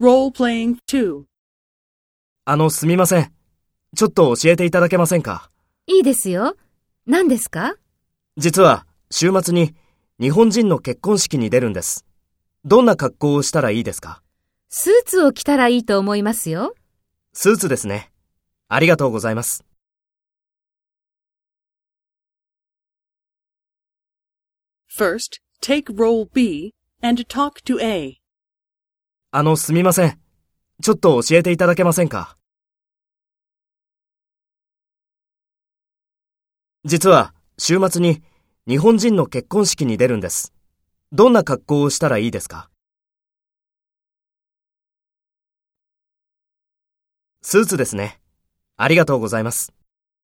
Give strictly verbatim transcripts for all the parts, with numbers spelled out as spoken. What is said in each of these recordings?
Role-playing two. あの、すみません。ちょっと教えていただけませんか？ いいですよ。何ですか？ 実は、週末に日本人の結婚式に出るんです。どんな格好をしたらいいですか？ スーツを着たらいいと思いますよ。 スーツですね。ありがとうございます。 First, take role B and talk to A. あの、すみません。ちょっと教えていただけませんか？実は、週末に日本人の結婚式に出るんです。どんな格好をしたらいいですか？スーツですね。ありがとうございます。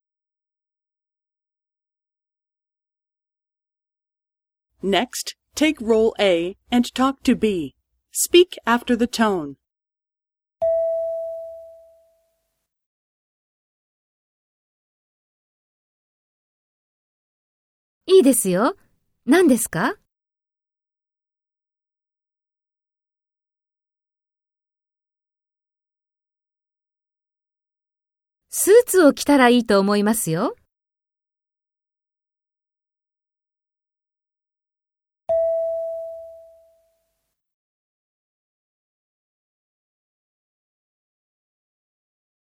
Next, take role A and talk to B. Speak after the tone. いいですよ。何ですか？スーツを着たらいいと思いますよ。